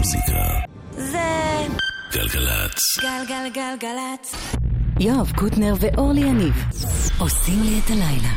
המוזיקה זה גלגלצ. גלגלגלגלצ. יואב קוטנר ואורלי יניב עושים לי את הלילה.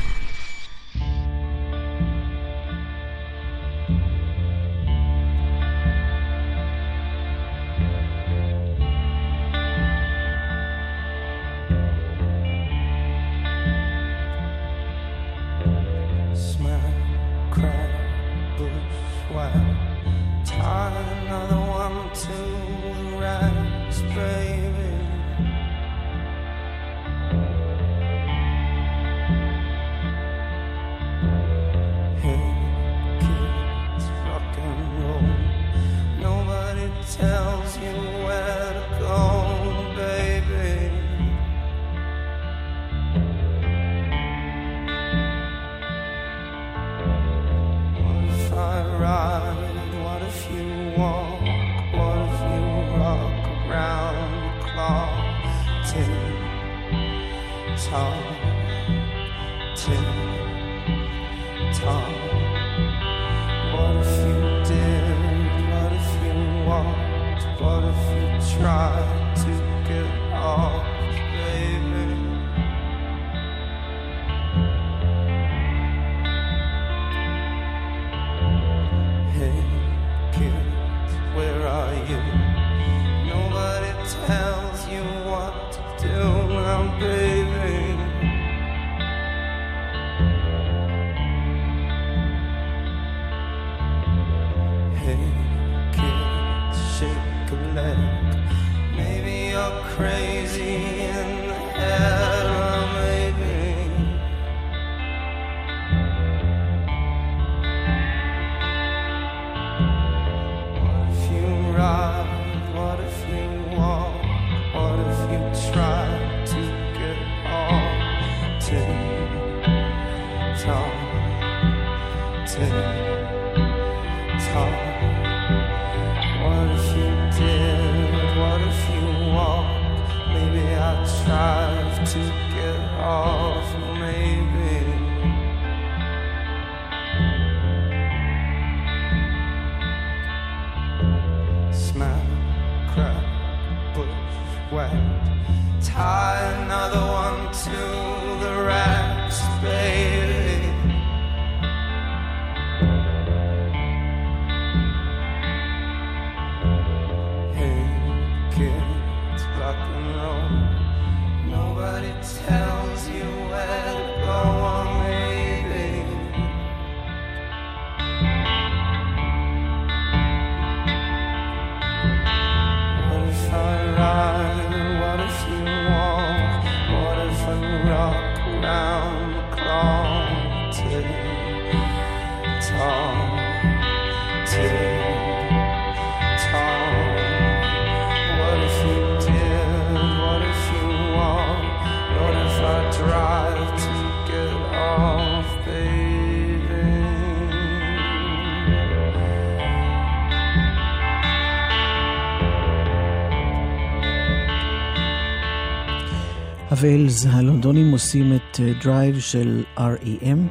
הווילס הלונדונים עושים את דרייב של R.E.M.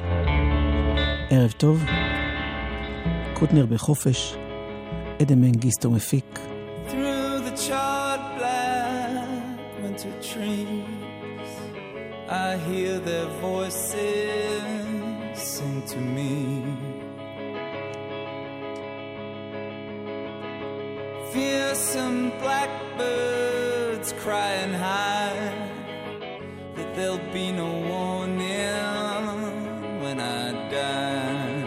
ערב טוב, קוטנר בחופש, אדם מנגיסטו מפיק. Through the charred black winter trees I hear their voices sing to me. Fearsome blackbirds crying high that there'll be no warning when I die.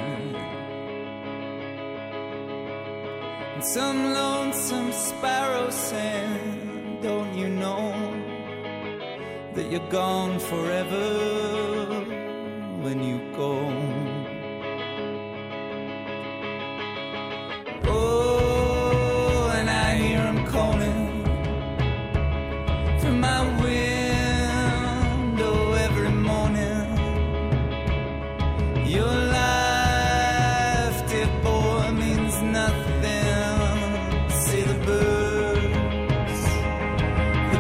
And some lonesome sparrow sang, don't you know that you're gone forever when you go. Oh, and I hear him calling from my window every morning. Your life, dear boy, means nothing. See the birds, the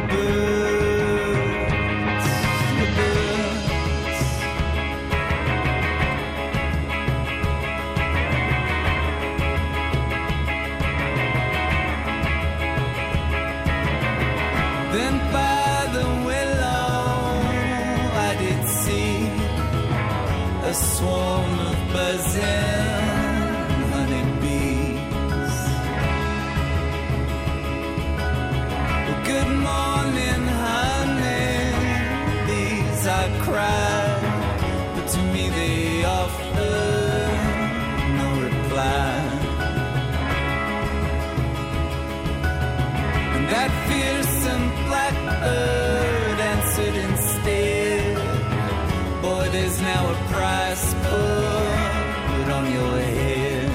birds, the birds. Then by the willow I did see a swarm of buzzing honeybees. Well, good morning, honey, these I cried, but to me they offered no reply. And that fearsome blackbird answered instead, boy, there's now a price put on your head.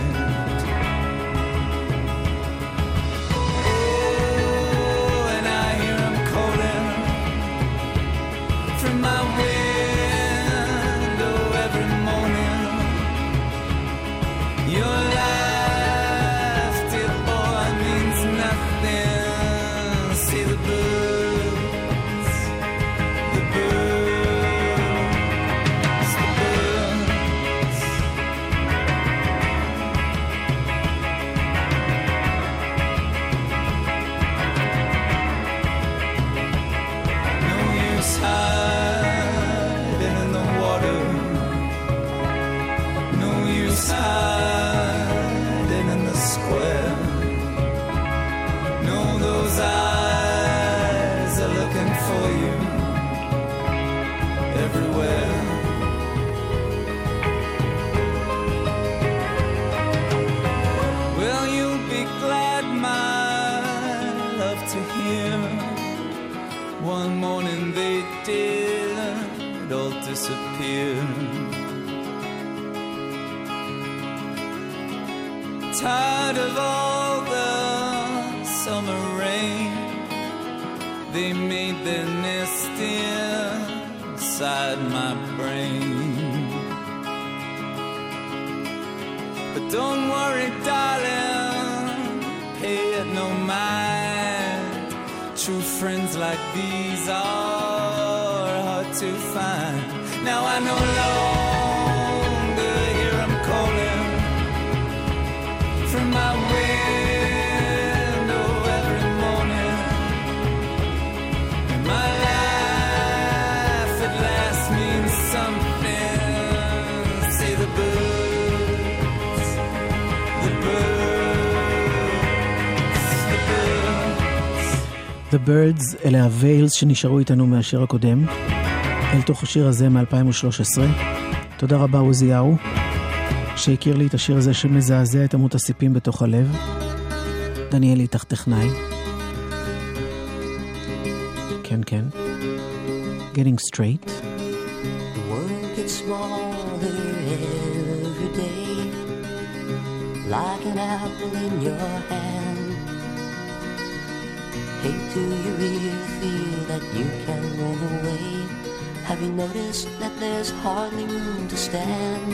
Oh, and I hear 'em calling from my window every morning. Your life, dear boy, means nothing. See the birds, the birds, the birds. No use hiding in the water. No use hiding in the square. No, those eyes are looking for you everywhere. Well, you'll be glad, my love, to hear one morning they did all disappear. Tired of all the summer rain, they made their nest inside my brain. But don't worry, darling, pay it no mind. True friends like these are hard to find. Now I no longer hear 'em calling from my window every morning. And my life at last means something. Say the birds, the birds, the birds. The Birds, אלה הווילס שנשארו איתנו מהשיר הקודם, אל תוך השיר הזה מ-2013. תודה רבה עוזיהו, שהכיר לי את השיר הזה שמזעזע את עמות הסיפים בתוך הלב. דניאל איתך טכנאי. כן, כן. Getting straight. The world gets smaller every day, like an apple in your hand. Hey, do you really feel that you can run away? Have you noticed that there's hardly room to stand?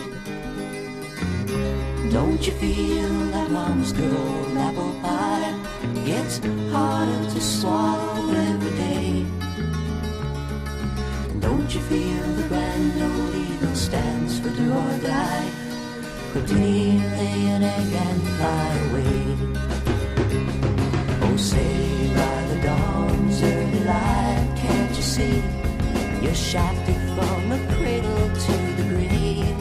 Don't you feel that mama's good old apple pie gets harder to swallow every day? And don't you feel the grand old eagle stands for do or die? Continue, lay an egg and fly away. Oh, say by the dawn's early light, can't you see? You're shafted from the cradle to the grave.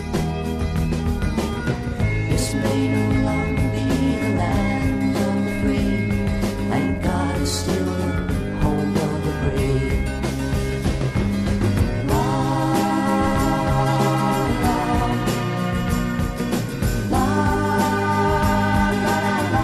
This may no longer be the land of the free. Thank God it's still the home of the brave. La, la, la, la, la, la.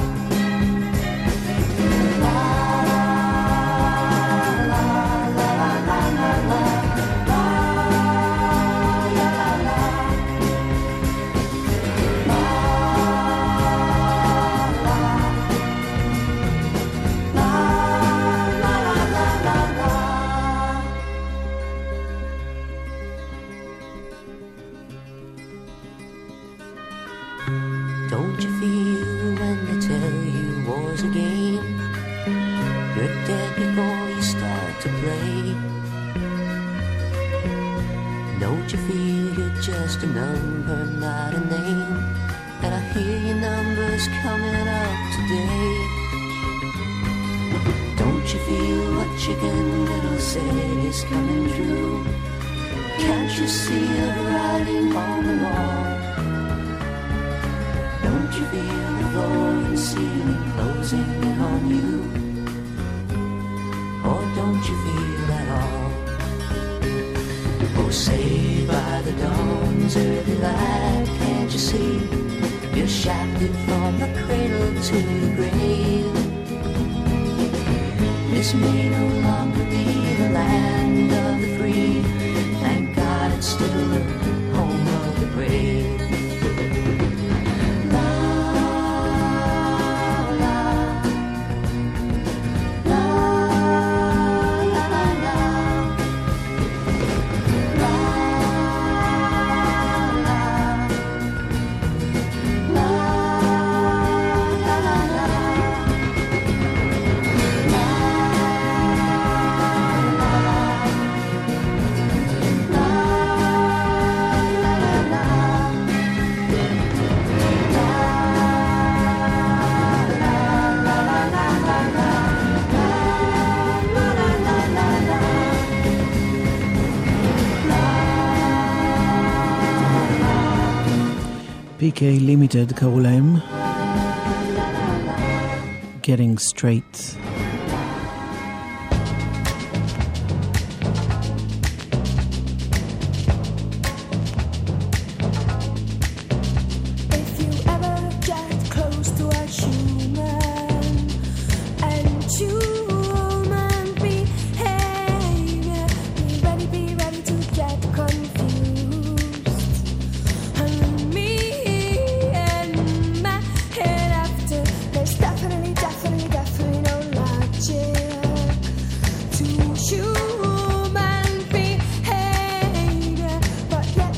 Don't you feel when they tell you war's a game? You're dead before you start to play. Don't you feel you're just a number, not a name? And I hear your numbers coming up today. Don't you feel what Chicken Little said is coming true? Can't you see the writing on the wall? Don't you feel the floor and ceiling closing in on you? Or don't you feel at all? Oh, say by the dawn's early light, can't you see? You're shafted from the cradle to the grave. This may no longer be the land of the free. Thank God it's still the home of the brave. La, la, la, la, la, la. PK Limited קראו להם Getting Straight.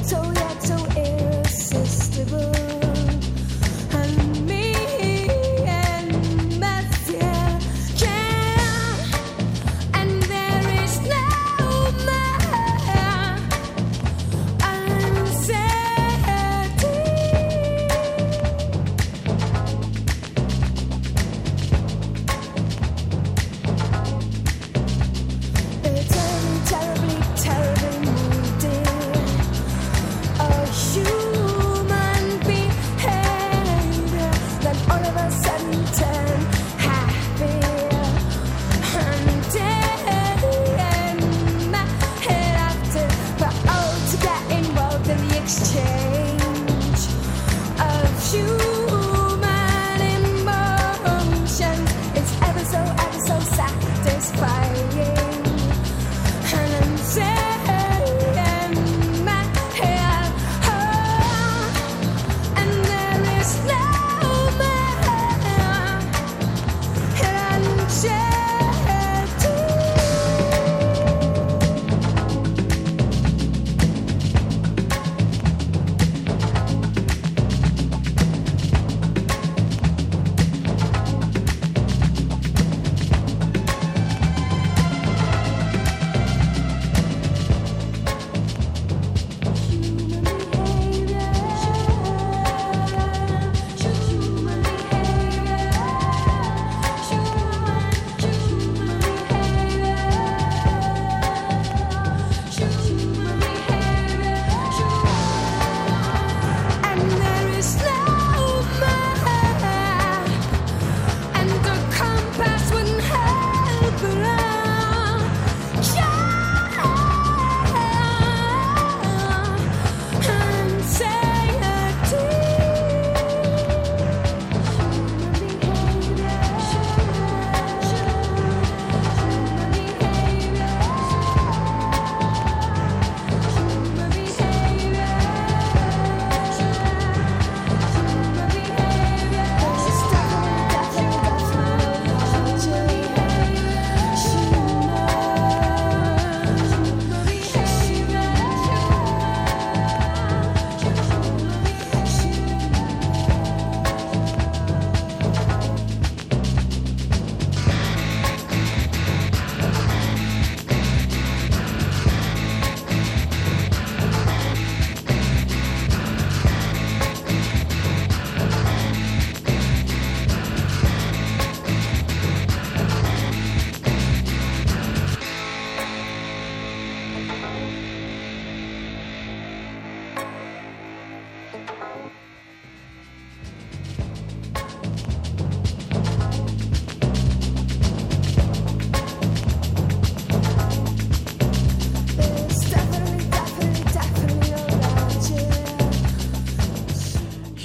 And me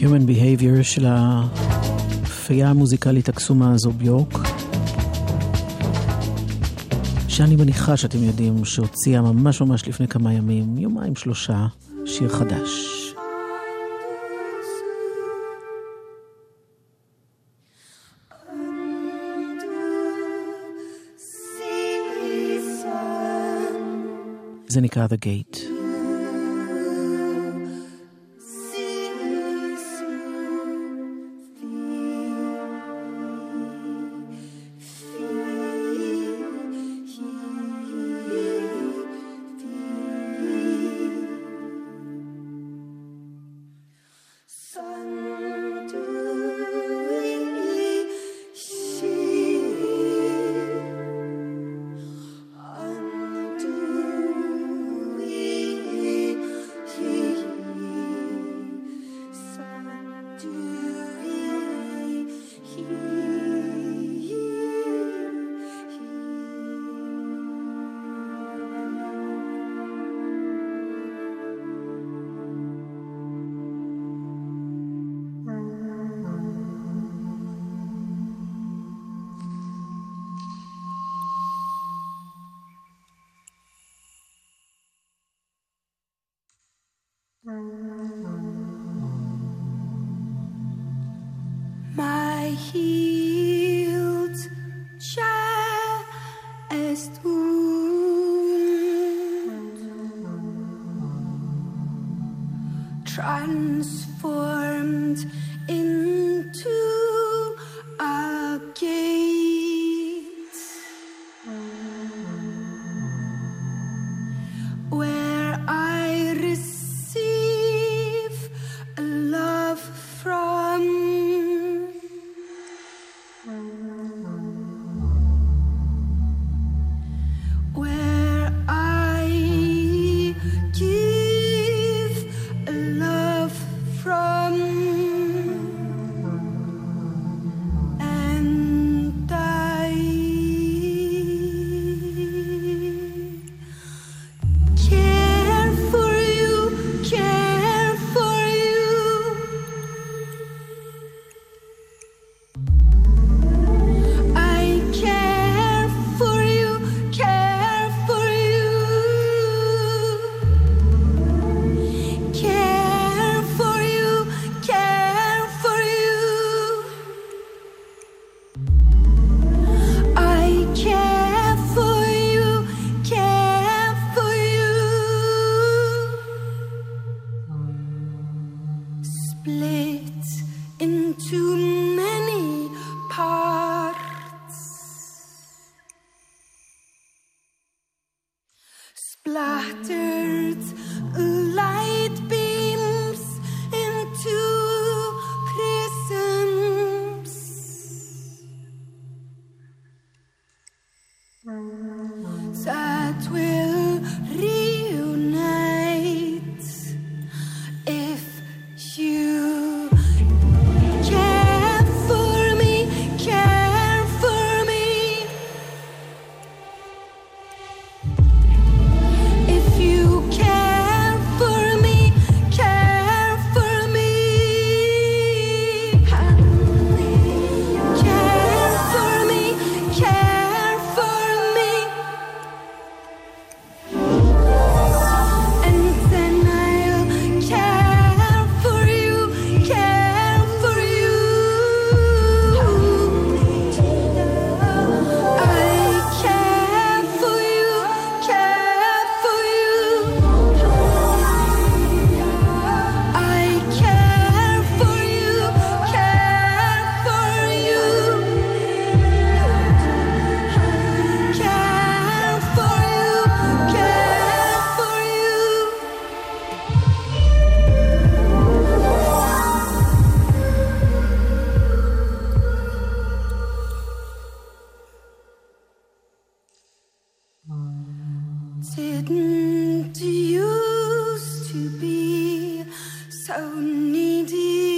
Human Behavior של הפייה המוזיקלית הקסומה הזו ביורק, שאני מניחה שאתם יודעים שהוציאה ממש ממש לפני כמה ימים, יומיים שלושה, שיר חדש. זה נקרא The Gate. My healed chest wound transformed into a gate where I receive love from. Where I give love from, and I care for you, care for you. I care for you, care for you. Care for you, care for you. I care for you, care for you. Split into many parts, splattered light beams into prisms that will reunite if you care for me, care for me. If you care for me, care for me. Care for me, care for me. And then I'll care for you, care for you. I care for you, care for you. I care for you, care for you. Care for you, care for you. Didn't used to be so needy.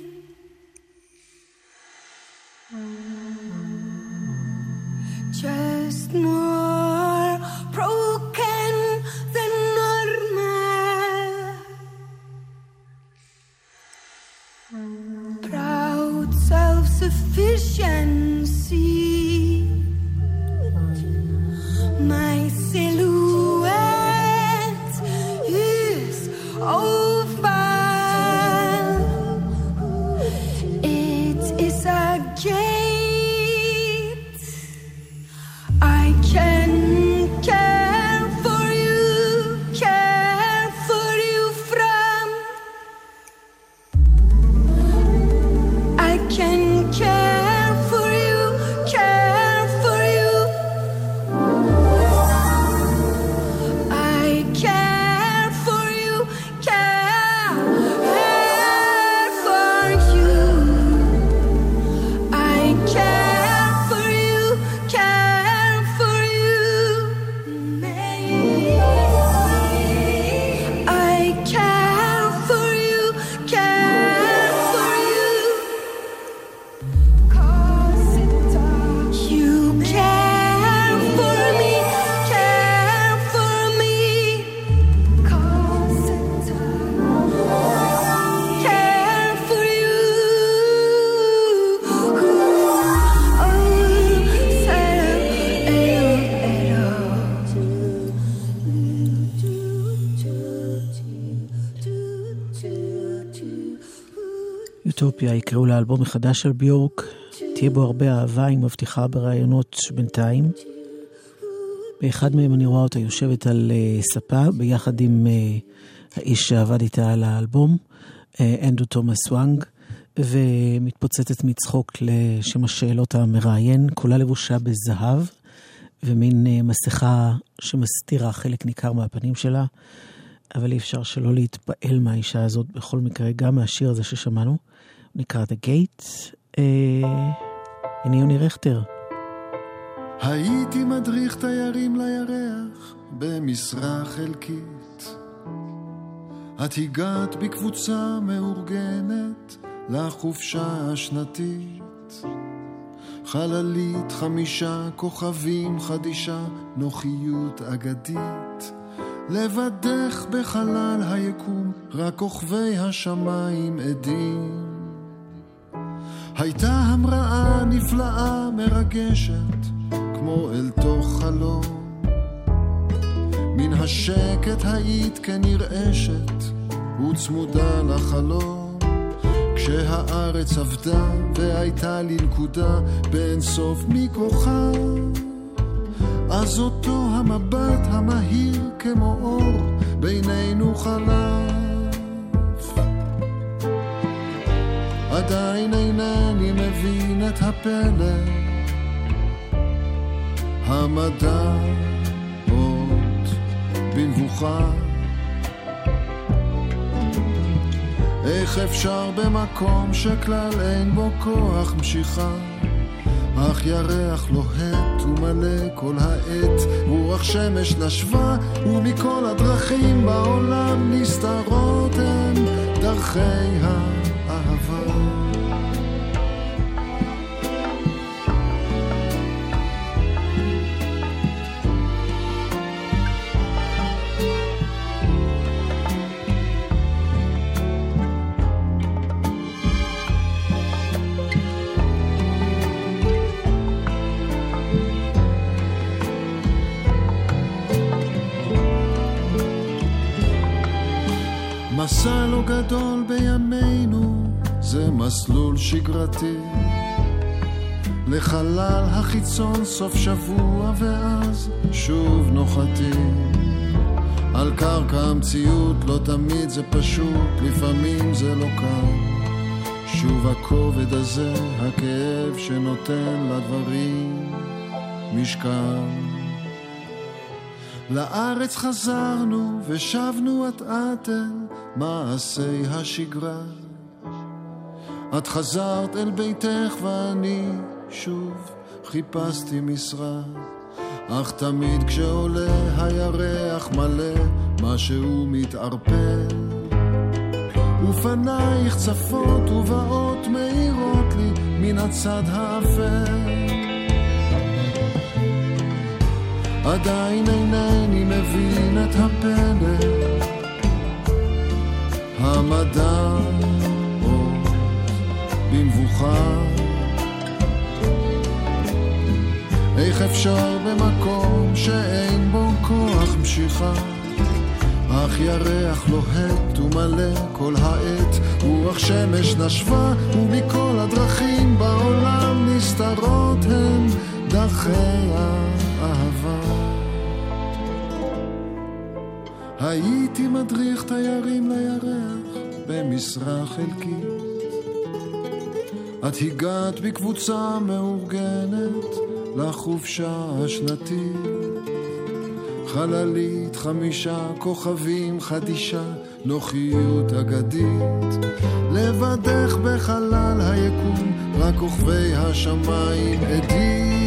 Just more broken than normal. self-sufficiency. My silhouette is oval. It is a gate. I can care for you from. I can care for you. I care for you, care for you. I care for you, care for you. I care for you, care for you. 'Cause you care for me, care for me. 'Cause care for you. יוטופיה יקראו לאלבום מחדש של ביורק, תהיה בו הרבה אהבה, היא מבטיחה ברעיונות בינתיים. באחד מהם אני רואה אותה יושבת על ספה ביחד עם האיש שעבד איתה על האלבום, אנדרו תומאס וואנג, ומתפוצצת מצחוק לשם השאלות המראיין, כולה לבושה בזהב ומין מסכה שמסתירה חלק ניכר מהפנים שלה, אבל אי אפשר שלא להתפעל מהאישה הזאת בכל מקרה, גם מהשיר הזה ששמענו, נקרא The Gate. הנה יוני רכטר. הייתי מדריך תיירים לירח במשרה חלקית. את הגעת בקבוצה מאורגנת לחופשה השנתית. חללית 5 כוכבים חדישה, נוחיות אגדית. לבדך בחלל היקום, רק כוכבי השמיים עדים. הייתה המראה נפלאה מרגשת, כמו אל תוך חלום. מן השקט היית כנרעשת, וצמודה לחלום. כשהארץ עבדה והייתה לי נקודה בין סוף מכוכב, אז אותו המבט המהיר כמו אור בינינו חלף. עדיין אינני מבין את הפלא, המדע עוד בנבוכה. איך אפשר במקום שכלל אין בו כוח משיכה, אך ירח לוהט ומלא כל העת, רוח שמש נשבה ומכל הדרכים בעולם נסתרות הן דרכי האהבה. מסע לא גדול בימינו, זה מסלול שגרתי. לחלל החיצון סוף שבוע ואז שוב נוחתים. על קרקע המציאות לא תמיד זה פשוט, לפעמים זה לא קל. שוב הכובד הזה, הכאב שנותן לדברים משקל. לארץ חזרנו ושבנו את אל מעשי השגרה. את חזרת אל ביתך ואני שוב חיפשתי משרה. אך תמיד כשעולה הירח מלא משהו מתערפל, ופנייך צפות ובאות מאירות לי מן הצד האפל. עדיין אינני מבין את הפלא, המדע עוד במבוכה. איך אפשר במקום שאין בו כוח משיכה, אך ירח לוהט ומלא כל העת, רוח שמש נשבה ומכל הדרכים בעולם נסתרות הן דרכי האהבה. הייתי מדריך תיירים לירח במשרה חלקית, את הגעת בקבוצה מאורגנת לחופשה השנתית, חללית 5 כוכבים חדישה, נוחיות אגדית, לבדך בחלל היקום רק כוכבי השמיים עדים.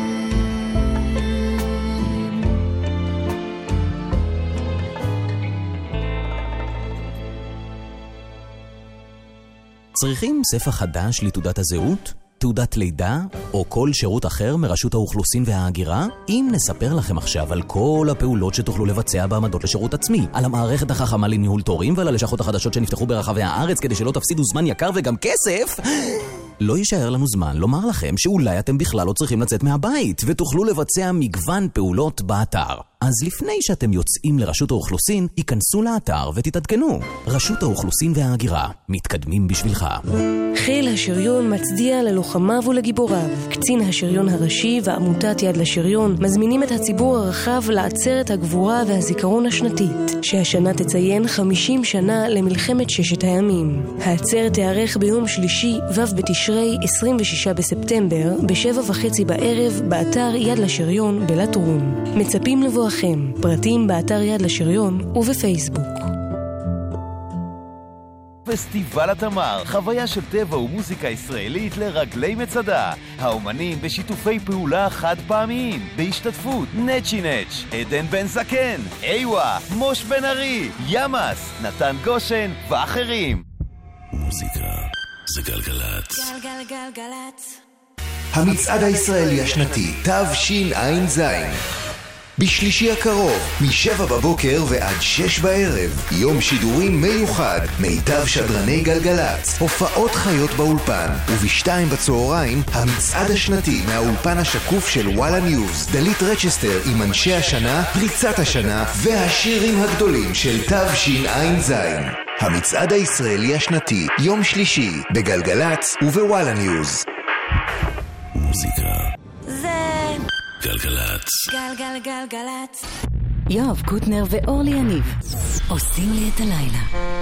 צריכים ספר חדש לתעודת הזהות? תעודת לידה? או כל שירות אחר מרשות האוכלוסין וההגירה? אם נספר לכם עכשיו על כל הפעולות שתוכלו לבצע בעמדות לשירות עצמי, על המערכת החכמה לניהול תורים ועל הלשכות החדשות שנפתחו ברחבי הארץ כדי שלא תפסידו זמן יקר וגם כסף, לא יישאר לנו זמן לומר לכם שאולי אתם בכלל לא צריכים לצאת מהבית ותוכלו לבצע מגוון פעולות באתר. אז לפני שאתם יוצאים לרשות האוכלוסין, היכנסו לאתר ותתעדכנו. רשות האוכלוסין וההגירה, מתקדמים בשבילך. חיל השריון מצדיע ללוחמיו ולגיבוריו. קצין השריון הראשי ועמותת יד לשריון מזמינים את הציבור הרחב לעצרת הגבורה והזיכרון השנתית, שהשנה תציין 50 שנה למלחמת ששת הימים. העצרת תארך ביום שלישי ו' בתשרי 26 בספטמבר ב7:30 בערב באתר יד לשריון בלטרון. מצפים לבואכם. פרטים באתר יד לשריון ובפייסבוק. פסטיבל התמר, חוויה של טבע ומוזיקה ישראלית לרגלי מצדה. האומנים בשיתופי פעולה חד פעמיים, בהשתתפות נצ'י נץ', עדן בן זקן, איווה, מוש בן ארי, ימאס, נתן גושן ואחרים. מוזיקה זה גלגלת. גלגלגלגלת. המצעד הישראלי השנתי תשע"ז בשלישי הקרוב, מ7 בבוקר ועד 6 בערב, יום שידורים מיוחד, מיטב שדרני גלגלץ, הופעות חיות באולפן, וב2 בצהריים, המצעד השנתי מהאולפן השקוף של וואלה ניוז, דלית רצ'סטר עם אנשי השנה, פריצת השנה, והשירים הגדולים של תשע"ז. המצעד הישראלי השנתי, יום שלישי, בגלגלץ ובוואלה ניוז. מוזיקה זה גלגלת. גלגלגלגלת. יואב קוטנר ואורלי יניב עושים לי את הלילה.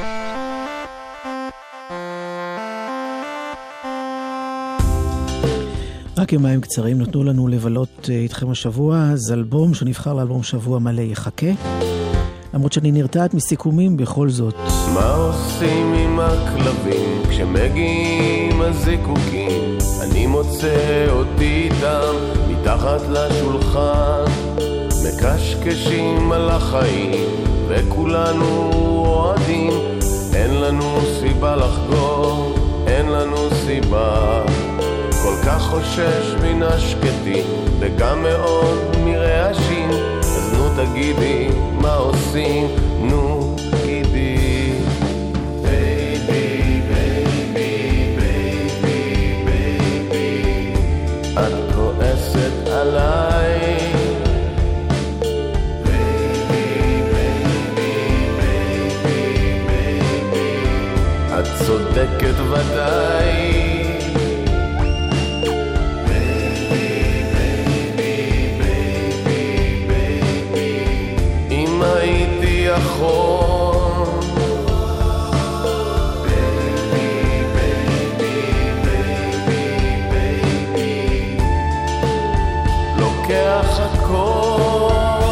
רק יומיים קצרים נתנו לנו לבלות איתכם השבוע, אז אלבום שנבחר לאלבום שבוע מלא יחכה, למרות שאני נרתעת מסיכומים בכל זאת. מה עושים עם הכלבים כשמגיעים הזיקוקים? אני מוצא אותי איתם מתחת לשולחן, מקשקשים על החיים וכולנו אוהדים. אין לנו סיבה לחגור, אין לנו סיבה. כל כך חושש מן השקטים וגם מאוד מרעשים, אז נו תגידי מה עושים, נו תגידי. בייבי, בייבי, בייבי, בייבי, את כועסת עליי. בייבי, בייבי, בייבי, בייבי, את צודקת ודאי. נכון בייבי, בייבי, בייבי, בייבי, לוקח הכל.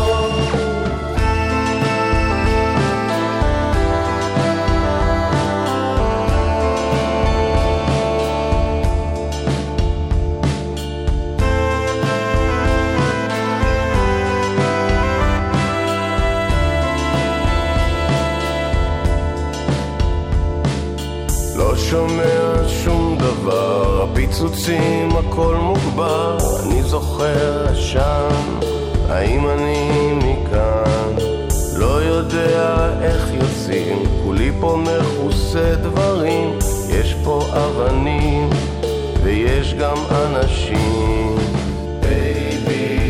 שומע שום דבר, הפיצוצים הכל מוגבר. אני זוכר שם, האם אני מכאן? לא יודע איך יוצאים, כולי פה מחוסה דברים. יש פה אבנים ויש גם אנשים. בייבי,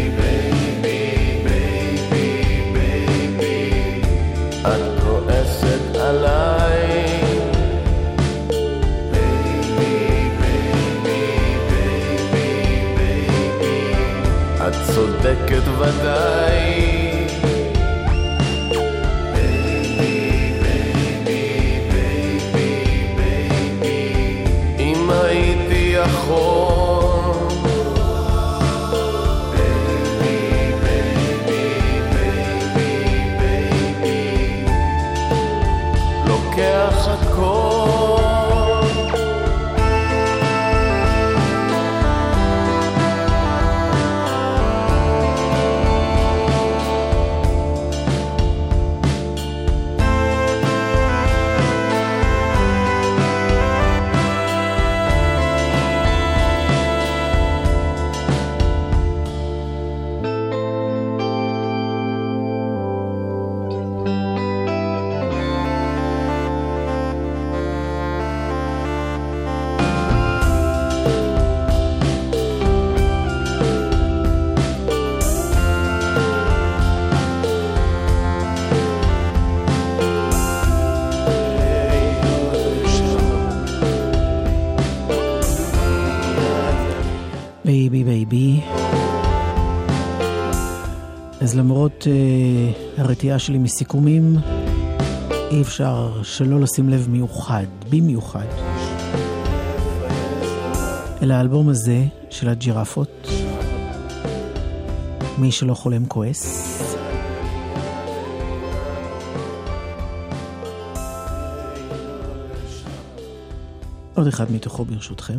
צודקת ודאי. אם הייתי יכול לוקח הכל. בייבי בייבי. אז למרות הרתיעה שלי מסיכומים, אי אפשר שלא לשים לב מיוחד, במיוחד, אל האלבום הזה של הג'ירפות, מי שלא חולם כועס. עוד אחד מתוכו ברשותכם.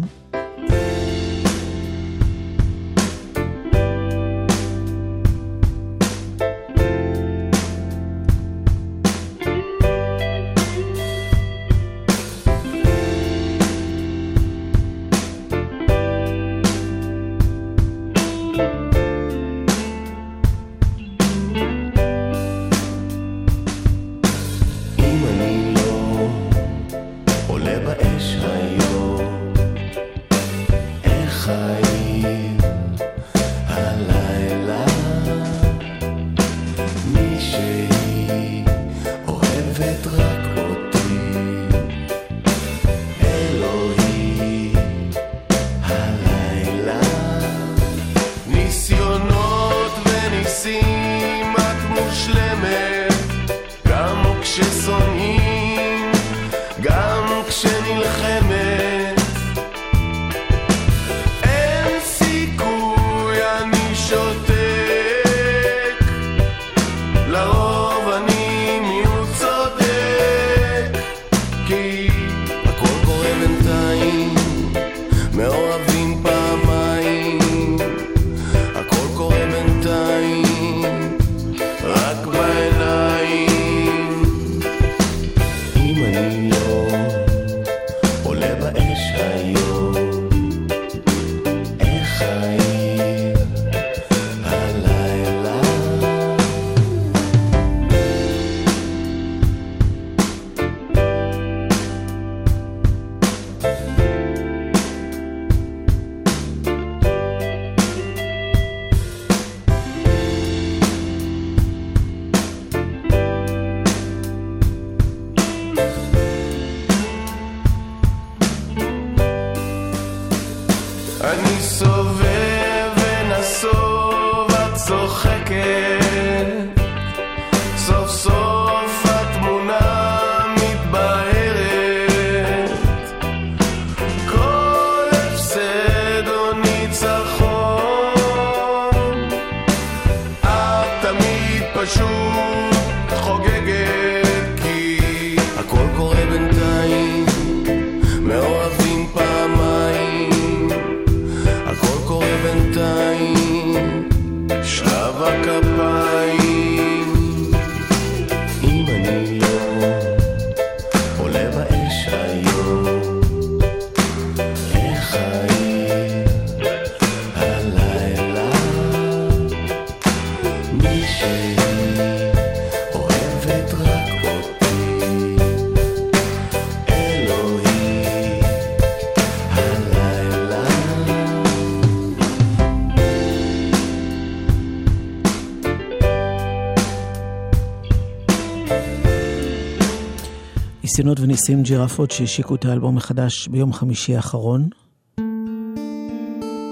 ניסיונות וניסים ג'ירפות שהשיקו את האלבום מחדש ביום חמישי האחרון,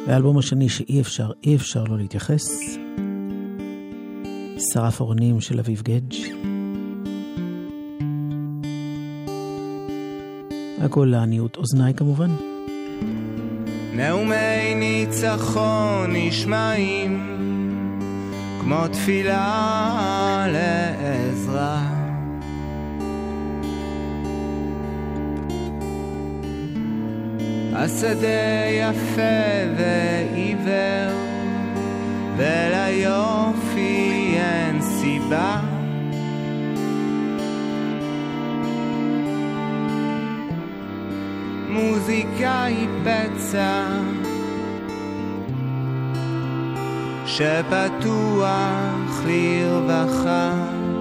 והאלבום השני שאי אפשר לא להתייחס, שרף אורנים של אביב גדג'. הכל לעניות אוזניי כמובן. נאומי ניצחון נשמעים כמו תפילה לעזרה, השדה יפה ועיוור וליופי אין סיבה, מוזיקה היא פצע שפתוח לרווחה,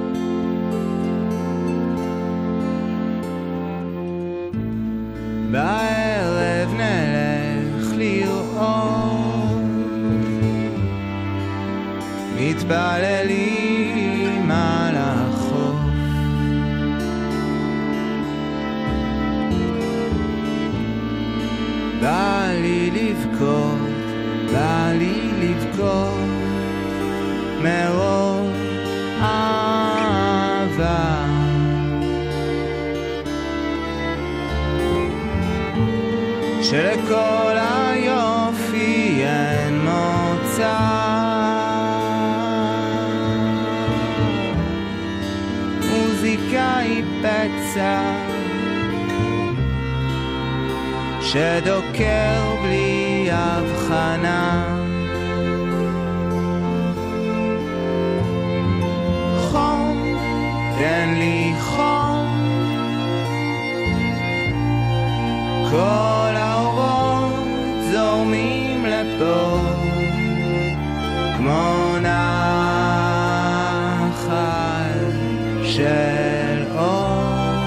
בערב נלך לראות, מתפללים על החוף, בא לי לבכות, בא לי לבכות מרוב אהבה, שלכל היופי אין מוצא, מוזיקה היא פצע שדוקר בלי הבחנה, חום, תן לי חום, כל האורות זורמים לפה כמו נחל של אור,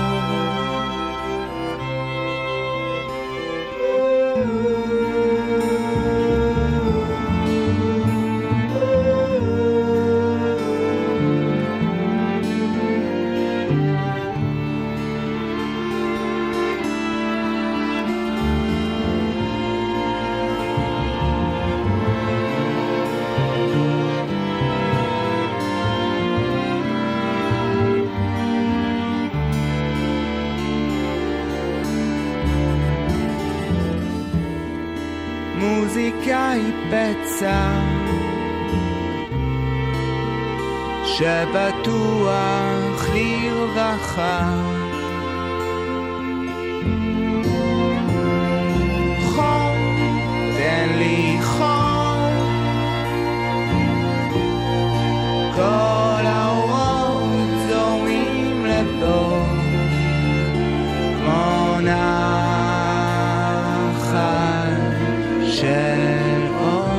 מוזיקה היא פצע שבטוח לרווחה, חום, תן לי חום, כל האורות זורמים לפה כמו נחל של אור,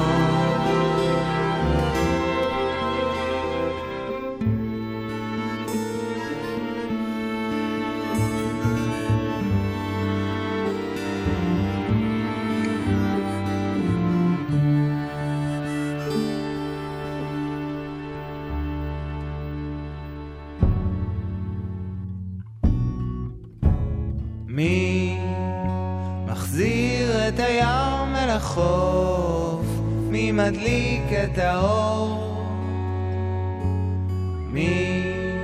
מי מחזיר את הים אל החוף, מי מדליק את האור, מי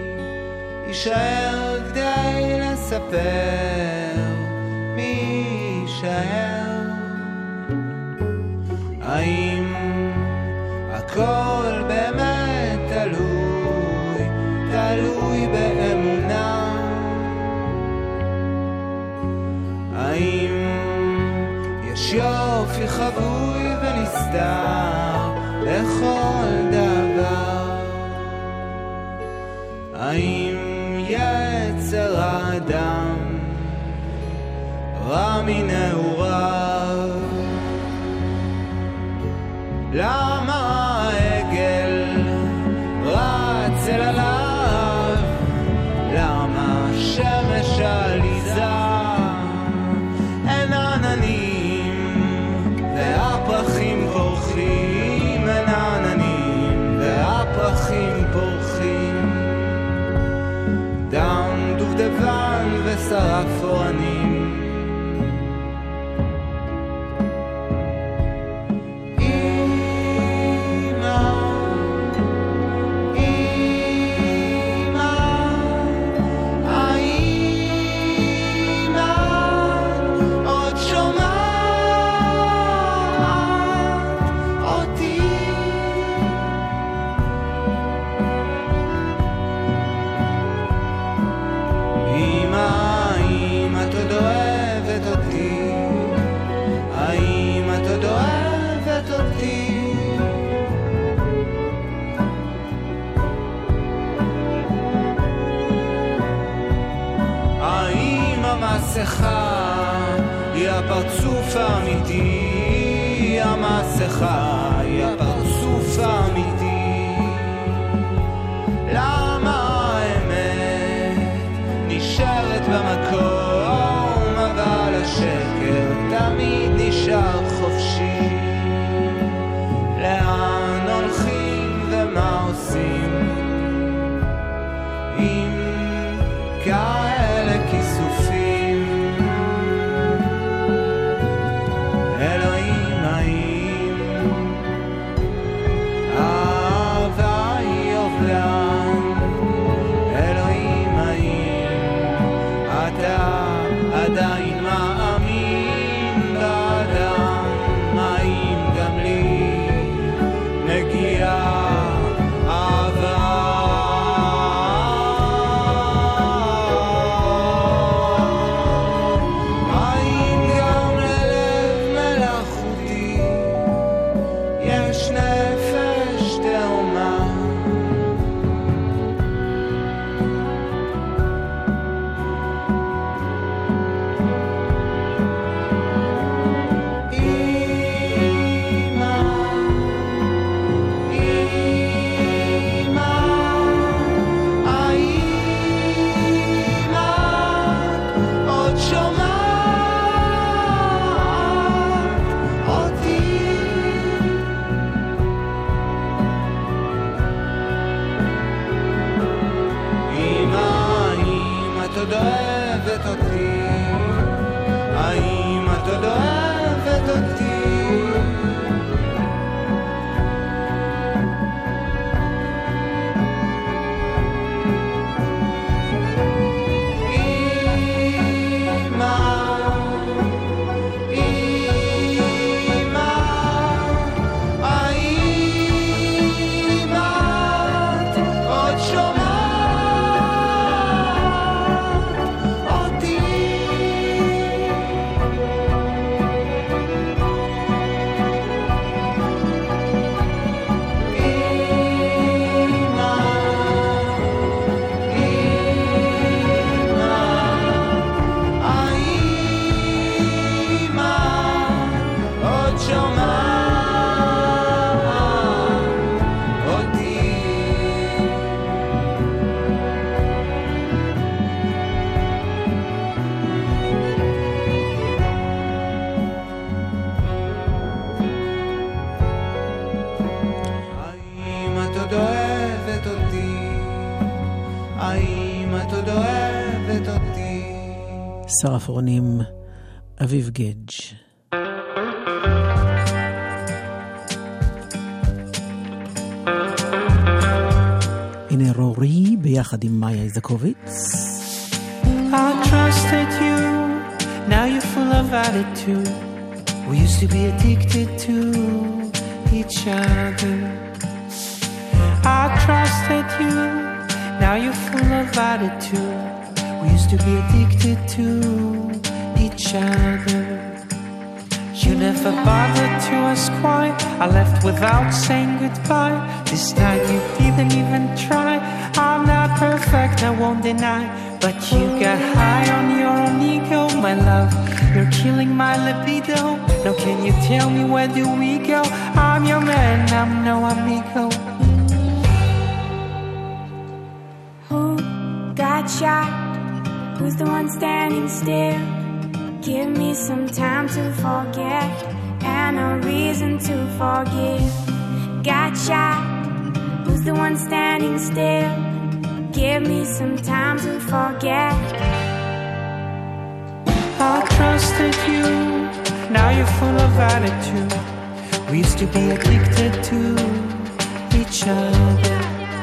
יישאר כדי לספר, מי יישאר, האם הכל באמת תלוי באמונה, האם יש יופי חבוי ונסתר לכל דבר, האם יצר האדם רע מנעוריו, למה העגל רץ אל עליו, למה שמש עליזה אין עננים והפרחים פורחים, אין עננים והפרחים פורחים, דם דובדבן ושרף אורנים, המסכה היא הפרצוף האמיתי. למה האמת נשארת במקום, אבל השקר תמיד נשאר חופשי. לאן הולכים ומה עושים עם כאלה כיסופים? אלוהים, האם אהבה היא אובלן? אלוהים, האם אתה עדיין מאמין באדם? האם גם לי מגיעה אהבה? האם גם ללב מלאכותי יש נפש תאומה? עוד שומעת אותי? האם את עוד אוהבת אותי? האם את עוד אוהבת אותי? שר הפרונים אביב גדג'. הנה רורי ביחד עם מאיה איזקוביץ. I trusted you, now you're full of attitude. We used to be addicted to each other. I trusted you, now you're full of attitude. We used to be addicted to each other. You never bothered to ask why. I left without saying goodbye. This time you didn't even try. I'm not perfect, I won't deny. But you got high on your own ego, my love. You're killing my libido. Now can you tell me where do we go? I'm your man, I'm no amigo. Who got shot? Who's the one standing still? Give me some time to forget and a reason to forgive. Got shot? Who's the one standing still? Give me some time to forget. I trusted you, now you're full of attitude. We used to be addicted to each other.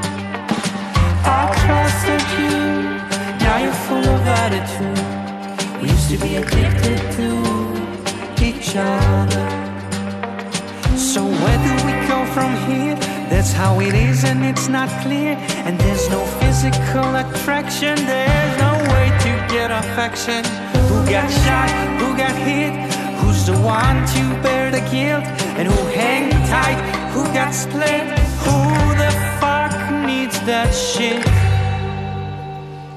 I trusted you, now you're full of attitude. We used to be addicted to each other. So where do we go from here? That's how it is and it's not clear. And there's no physical attraction. There's no way to get affection. Who got shot? Who got hit? Who's the one to bear the guilt? And who hang tight? Who got split? Who the fuck needs that shit?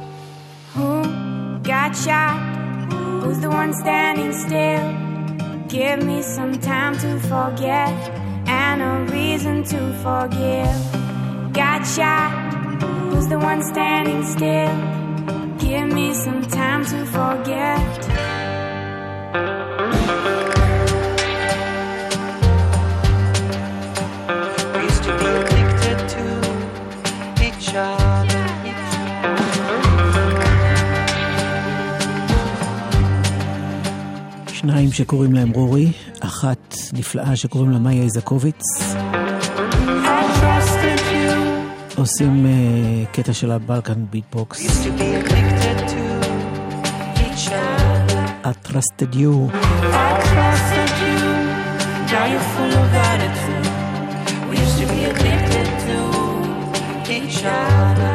Who got shot? Who's the one standing still? Give me some time to forget and a reason to forgive. Got shot, who's the one standing still? Give me some time to forget. We used to be addicted to each other. שניים שקוראים להם רורי, אחת נפלאה שקוראים לה מאיה איזקוביץ. עושים קטע של הבלקן ביטבוקס. I trusted you. I trusted you. Now you're full of attitude. We used to be addicted to each other.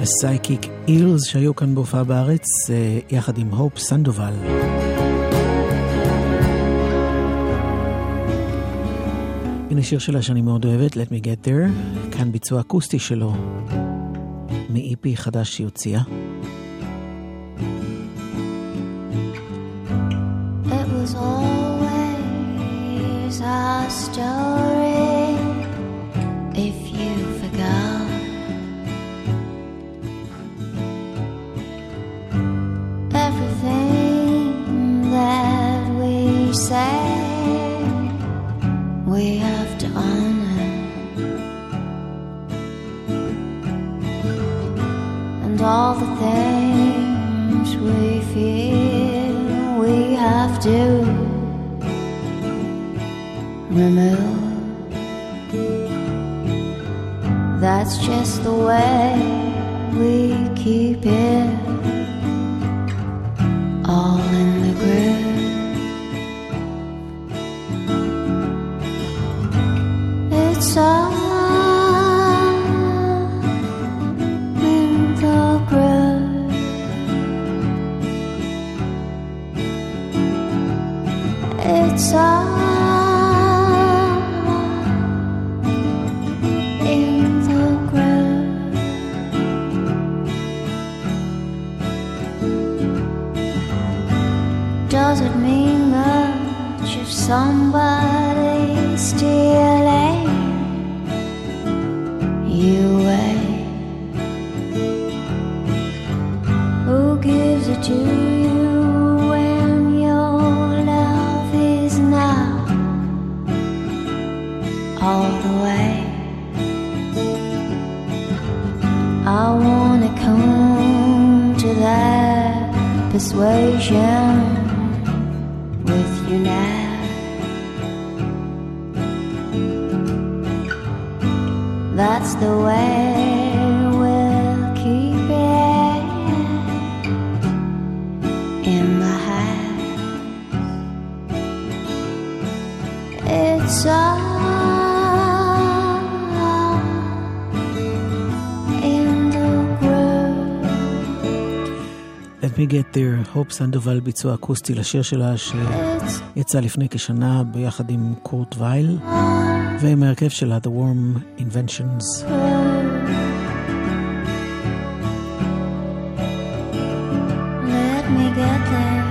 הסייקיק אילס שהיו כאן בהופעה בארץ יחד עם הופ סנדובל. הנה שיר שלה שאני מאוד אוהבת, Let Me Get There, כאן ביצוע אקוסטי שלו מ-EP חדש שהיא הוציאה. It was always our story, if you forgot. Everything that we say, we have to honor. And all the things we feel, we have to remove. That's just the way we keep it all in the groove. It's all in the groove. It's all in the groove. Does it mean much if somebody's stealing you away? Who gives it to you when your love is now all the way? I wanna come to that persuasion with you now. That's the way we'll keep it in the house. It's all in the groove. Let Me Get There, הופ סנדובל, ביצוע אקוסטי לשיר שלה שיצא לפני כשנה ביחד עם קורט וייל ועם ההרכב שלה The Warm Inventions. Let me get there.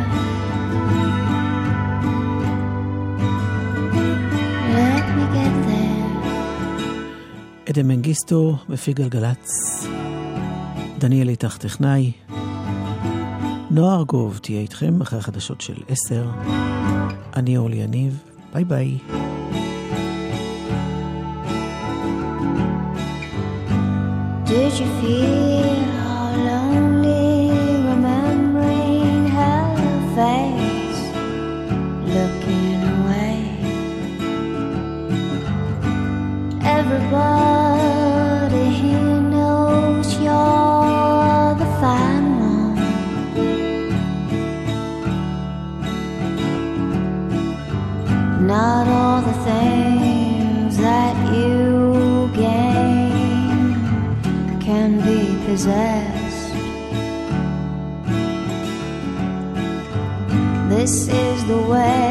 Let me get there. עדן מנגיסטו בפי גלגלץ, דניאל איתך טכנאי, נועה ארגוב תהיה איתכם אחרי החדשות של 10. אני אורלי יניב, ביי ביי. Did you feel how lonely remembering her face, looking away? Everybody here knows you're the fine one. Not all the things that you gain can be possessed. This is the way